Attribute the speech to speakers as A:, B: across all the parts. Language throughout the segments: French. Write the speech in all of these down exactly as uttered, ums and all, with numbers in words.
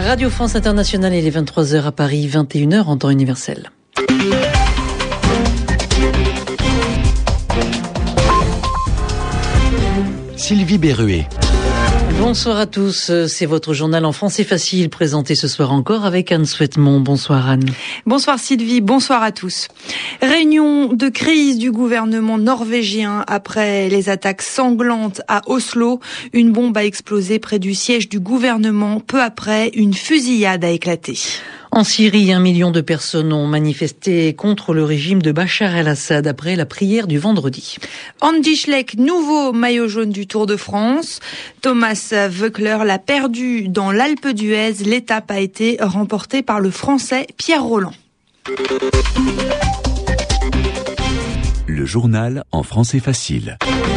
A: Radio France Internationale, il est vingt-trois heures à Paris, vingt et une heures en temps universel.
B: Sylvie Berruet.
A: Bonsoir à tous, c'est votre journal en français facile, présenté ce soir encore avec Anne Souhaitemont. Bonsoir Anne.
C: Bonsoir Sylvie, bonsoir à tous. Réunion de crise du gouvernement norvégien après les attaques sanglantes à Oslo. Une bombe a explosé près du siège du gouvernement. Peu après, une fusillade a éclaté.
A: En Syrie, un million de personnes ont manifesté contre le régime de Bachar el-Assad après la prière du vendredi.
C: Andy Schleck, nouveau maillot jaune du Tour de France. Thomas Voeckler l'a perdu dans l'Alpe d'Huez. L'étape a été remportée par le Français Pierre Rolland.
B: Le journal en français facile.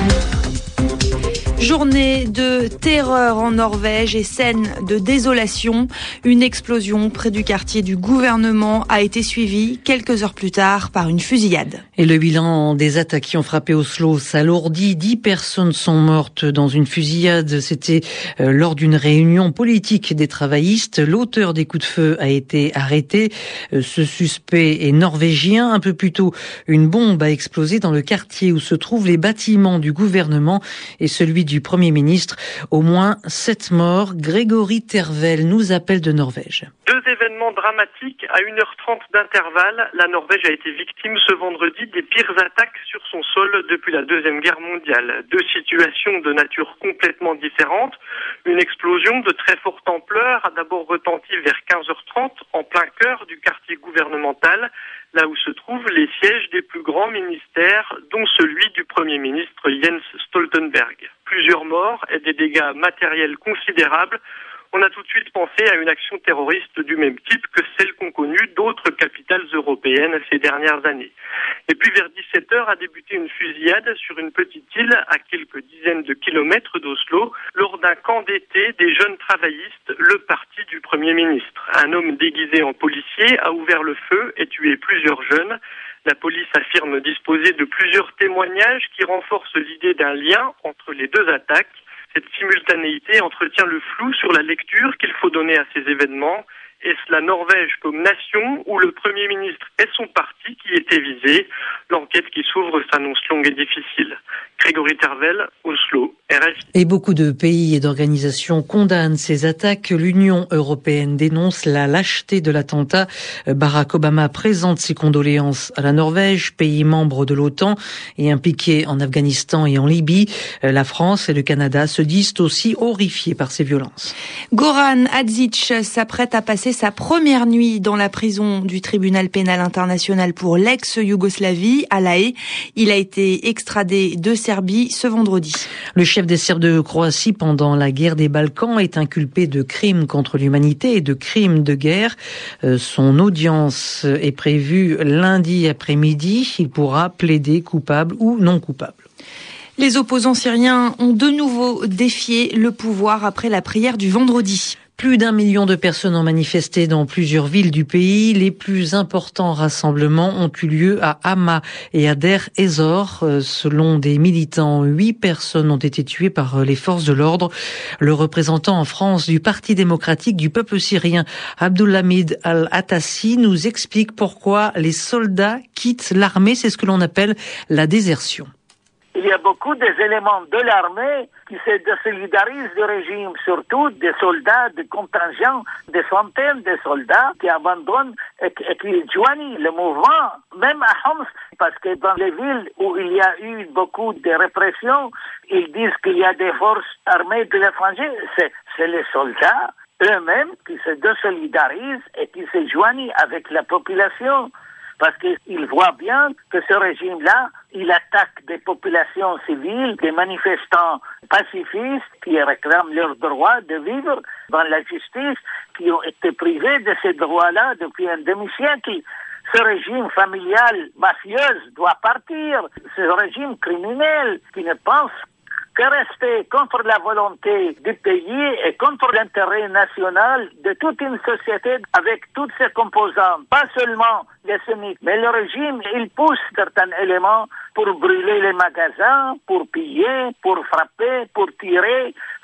C: Journée de terreur en Norvège et scène de désolation. Une explosion près du quartier du gouvernement a été suivie quelques heures plus tard par une fusillade.
A: Et le bilan des attaques qui ont frappé Oslo s'alourdit. Dix personnes sont mortes dans une fusillade. C'était euh, lors d'une réunion politique des travaillistes. L'auteur des coups de feu a été arrêté. Euh, ce suspect est norvégien. Un peu plus tôt, une bombe a explosé dans le quartier où se trouvent les bâtiments du gouvernement et celui du Premier ministre. Au moins sept morts. Grégory Tervel nous appelle de Norvège.
D: Deux événements dramatiques à une heure trente d'intervalle. La Norvège a été victime ce vendredi des pires attaques sur son sol depuis la Deuxième Guerre mondiale. Deux situations de nature complètement différente. Une explosion de très forte ampleur a d'abord retenti vers quinze heures trente en plein cœur du quartier gouvernemental, là où se trouvent les sièges des plus grands ministères, dont celui du Premier ministre Jens Stoltenberg. Plusieurs morts et des dégâts matériels considérables. On a tout de suite pensé à une action terroriste du même type que celle qu'ont connue d'autres capitales européennes ces dernières années. Et puis vers dix-sept heures a débuté une fusillade sur une petite île à quelques dizaines de kilomètres d'Oslo lors d'un camp d'été des jeunes travaillistes, le parti du Premier ministre. Un homme déguisé en policier a ouvert le feu et tué plusieurs jeunes. La police affirme disposer de plusieurs témoignages qui renforcent l'idée d'un lien entre les deux attaques. Cette simultanéité entretient le flou sur la lecture qu'il faut donner à ces événements. Est-ce la Norvège comme nation ou le Premier ministre et son parti qui étaient visés? L'enquête qui s'ouvre s'annonce longue et difficile. Grégory Tervel, Oslo, R F I.
A: Et beaucoup de pays et d'organisations condamnent ces attaques. L'Union européenne dénonce la lâcheté de l'attentat. Barack Obama présente ses condoléances à la Norvège, pays membre de l'OTAN et impliqué en Afghanistan et en Libye. La France et le Canada se disent aussi horrifiés par ces violences.
C: Goran Hadzic s'apprête à passer sa première nuit dans la prison du tribunal pénal international pour l'ex-Yougoslavie à La Haye. Il a été extradé de Serbie ce vendredi.
A: Le chef des Serbes de Croatie pendant la guerre des Balkans est inculpé de crimes contre l'humanité et de crimes de guerre. Son audience est prévue lundi après-midi. Il pourra plaider coupable ou non coupable.
C: Les opposants syriens ont de nouveau défié le pouvoir après la prière du vendredi.
A: Plus d'un million de personnes ont manifesté dans plusieurs villes du pays. Les plus importants rassemblements ont eu lieu à Hama et à Der Ezor. Selon des militants, huit personnes ont été tuées par les forces de l'ordre. Le représentant en France du Parti démocratique du peuple syrien, Abdulhamid Al-Attassi, nous explique pourquoi les soldats quittent l'armée. C'est ce que l'on appelle la désertion.
E: Il y a beaucoup d'éléments de l'armée qui se désolidarisent du régime, surtout des soldats, des contingents, des centaines de soldats qui abandonnent et, et qui joignent le mouvement, même à Homs, parce que dans les villes où il y a eu beaucoup de répression, ils disent qu'il y a des forces armées de l'étranger. C'est, c'est les soldats eux-mêmes qui se désolidarisent et qui se joignent avec la population. Parce qu'ils voient bien que ce régime-là, il attaque des populations civiles, des manifestants pacifistes qui réclament leur droit de vivre dans la justice, qui ont été privés de ces droits-là depuis un demi-siècle. Ce régime familial mafieux doit partir. Ce régime criminel qui ne pense que rester contre la volonté du pays et contre l'intérêt national de toute une société avec toutes ses composantes. Pas seulement les sunnites, mais le régime, il pousse certains éléments pour brûler les magasins, pour piller, pour frapper, pour tirer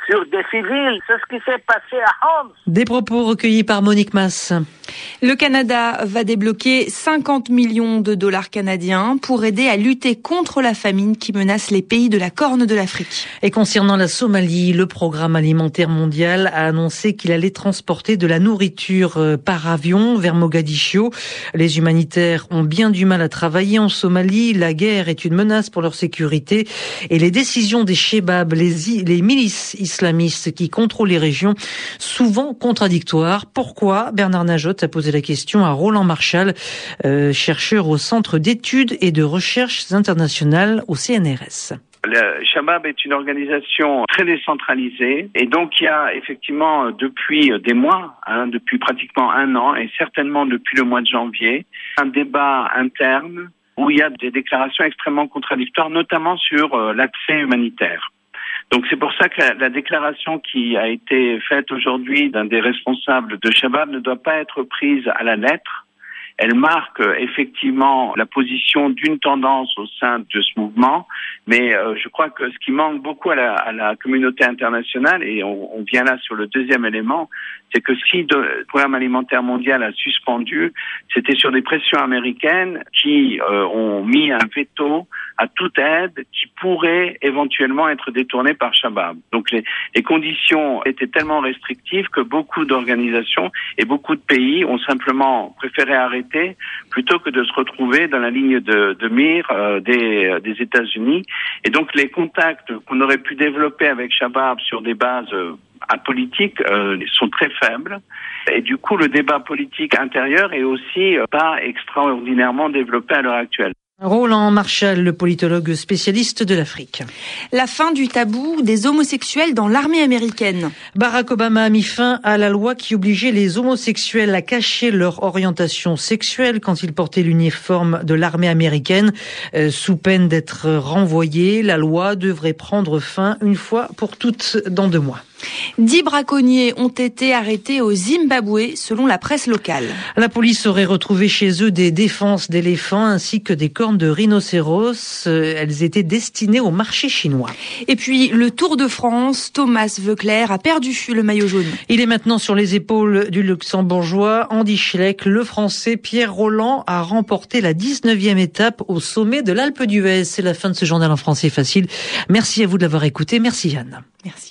E: sur des civils. C'est ce qui s'est passé à Homs.
A: Des propos recueillis par Monique Masse.
C: Le Canada va débloquer cinquante millions de dollars canadiens pour aider à lutter contre la famine qui menace les pays de la Corne de l'Afrique.
A: Et concernant la Somalie, le Programme alimentaire mondial a annoncé qu'il allait transporter de la nourriture par avion vers Mogadiscio. Les humanitaires ont bien du mal à travailler en Somalie. La guerre est une menace pour leur sécurité et les décisions des Chebab, les, les milices islamistes qui contrôlent les régions, souvent contradictoires. Pourquoi? Bernard Najot a posé la question à Roland Marchal, euh, chercheur au Centre d'études et de recherches internationales au C N R S.
F: Le Shabab est une organisation très décentralisée et donc il y a effectivement depuis des mois, hein, depuis pratiquement un an et certainement depuis le mois de janvier, un débat interne où il y a des déclarations extrêmement contradictoires, notamment sur euh, l'accès humanitaire. Donc c'est pour ça que la, la déclaration qui a été faite aujourd'hui d'un des responsables de Shabab ne doit pas être prise à la lettre. Elle marque euh, effectivement la position d'une tendance au sein de ce mouvement, mais euh, je crois que ce qui manque beaucoup à la, à la communauté internationale, et on, on vient là sur le deuxième élément, c'est que si le Programme alimentaire mondial a suspendu, c'était sur des pressions américaines qui euh, ont mis un veto à toute aide qui pourrait éventuellement être détournée par Shabab. Donc les, les conditions étaient tellement restrictives que beaucoup d'organisations et beaucoup de pays ont simplement préféré arrêter plutôt que de se retrouver dans la ligne de, de mire euh, des, des États-Unis. Et donc les contacts qu'on aurait pu développer avec Shabab sur des bases euh, apolitiques euh, sont très faibles. Et du coup, le débat politique intérieur est aussi euh, pas extraordinairement développé à l'heure actuelle.
A: Roland Marchal, le politologue spécialiste de l'Afrique.
C: La fin du tabou des homosexuels dans l'armée américaine.
A: Barack Obama a mis fin à la loi qui obligeait les homosexuels à cacher leur orientation sexuelle quand ils portaient l'uniforme de l'armée américaine, euh, sous peine d'être renvoyés. La loi devrait prendre fin une fois pour toutes dans deux mois.
C: Dix braconniers ont été arrêtés au Zimbabwe, selon la presse locale.
A: La police aurait retrouvé chez eux des défenses d'éléphants ainsi que des cornes de rhinocéros. Elles étaient destinées au marché chinois.
C: Et puis, le Tour de France, Thomas Voeckler a perdu le maillot jaune.
A: Il est maintenant sur les épaules du luxembourgeois Andy Schleck. Le français Pierre Rolland a remporté la dix-neuvième étape au sommet de l'Alpe d'Huez. C'est la fin de ce journal en français facile. Merci à vous de l'avoir écouté. Merci Yann.
C: Merci.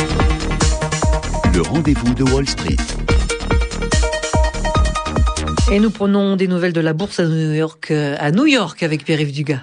B: Le rendez-vous de Wall Street.
A: Et nous prenons des nouvelles de la bourse à New York, à New York avec Pierre-Yves Dugas.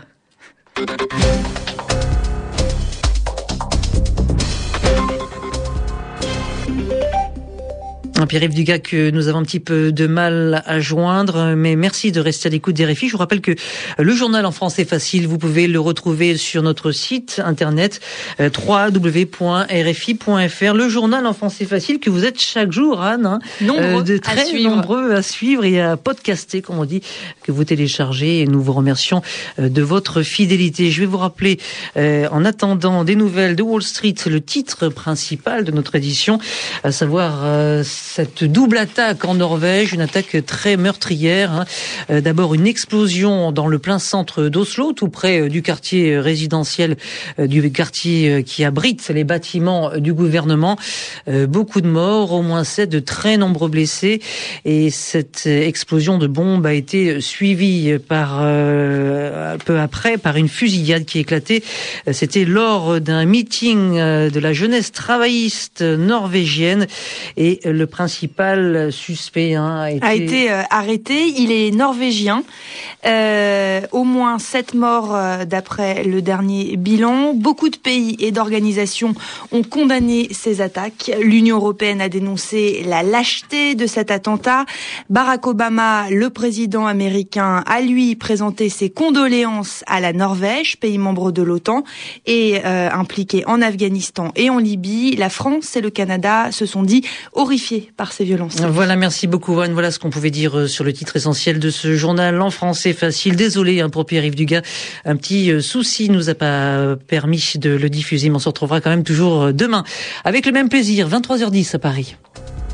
A: Pierre-Yves Dugas que nous avons un petit peu de mal à joindre, mais merci de rester à l'écoute des R F I. Je vous rappelle que le journal en français facile, vous pouvez le retrouver sur notre site internet w w w point r f i point f r. Le journal en français facile que vous êtes chaque jour, Anne, hein,
C: nombreux,
A: euh, de très
C: à
A: nombreux à suivre et à podcaster, comme on dit, que vous téléchargez. Et nous vous remercions de votre fidélité. Je vais vous rappeler, euh, en attendant des nouvelles de Wall Street, le titre principal de notre édition, à savoir euh, cette double attaque en Norvège, une attaque très meurtrière. Hein. Euh, d'abord une explosion dans le plein centre d'Oslo, tout près euh, du quartier résidentiel, euh, du quartier euh, qui abrite les bâtiments euh, du gouvernement. Euh, beaucoup de morts, au moins sept, de très nombreux blessés. Et cette explosion de bombe a été suivie par euh, peu après par une fusillade qui éclatait. C'était lors d'un meeting euh, de la jeunesse travailliste norvégienne et le principal suspect hein, a été,
C: a été euh, arrêté. Il est norvégien. Euh, au moins sept morts euh, d'après le dernier bilan. Beaucoup de pays et d'organisations ont condamné ces attaques. L'Union européenne a dénoncé la lâcheté de cet attentat. Barack Obama, le président américain, a lui présenté ses condoléances à la Norvège, pays membre de l'OTAN, et euh, impliqué en Afghanistan et en Libye. La France et le Canada se sont dit horrifiés par ces violences.
A: Voilà, merci beaucoup Anne. Voilà ce qu'on pouvait dire sur le titre essentiel de ce journal en français facile. Désolé hein, pour Pierre-Yves Dugas, un petit euh, souci nous a pas permis de le diffuser, mais on se retrouvera quand même toujours demain avec le même plaisir, vingt-trois heures dix à Paris.